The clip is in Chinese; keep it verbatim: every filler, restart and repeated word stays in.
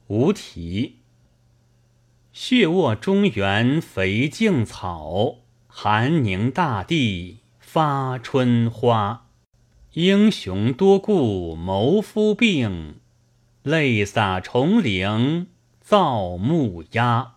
无题。血卧中原肥净草，寒凝大地发春花。英雄多顾谋夫病，泪洒重陵造木鸦。